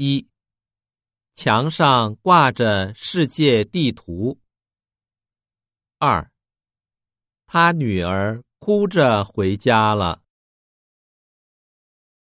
1. 墙上挂着世界地图。2. 他女儿哭着回家了。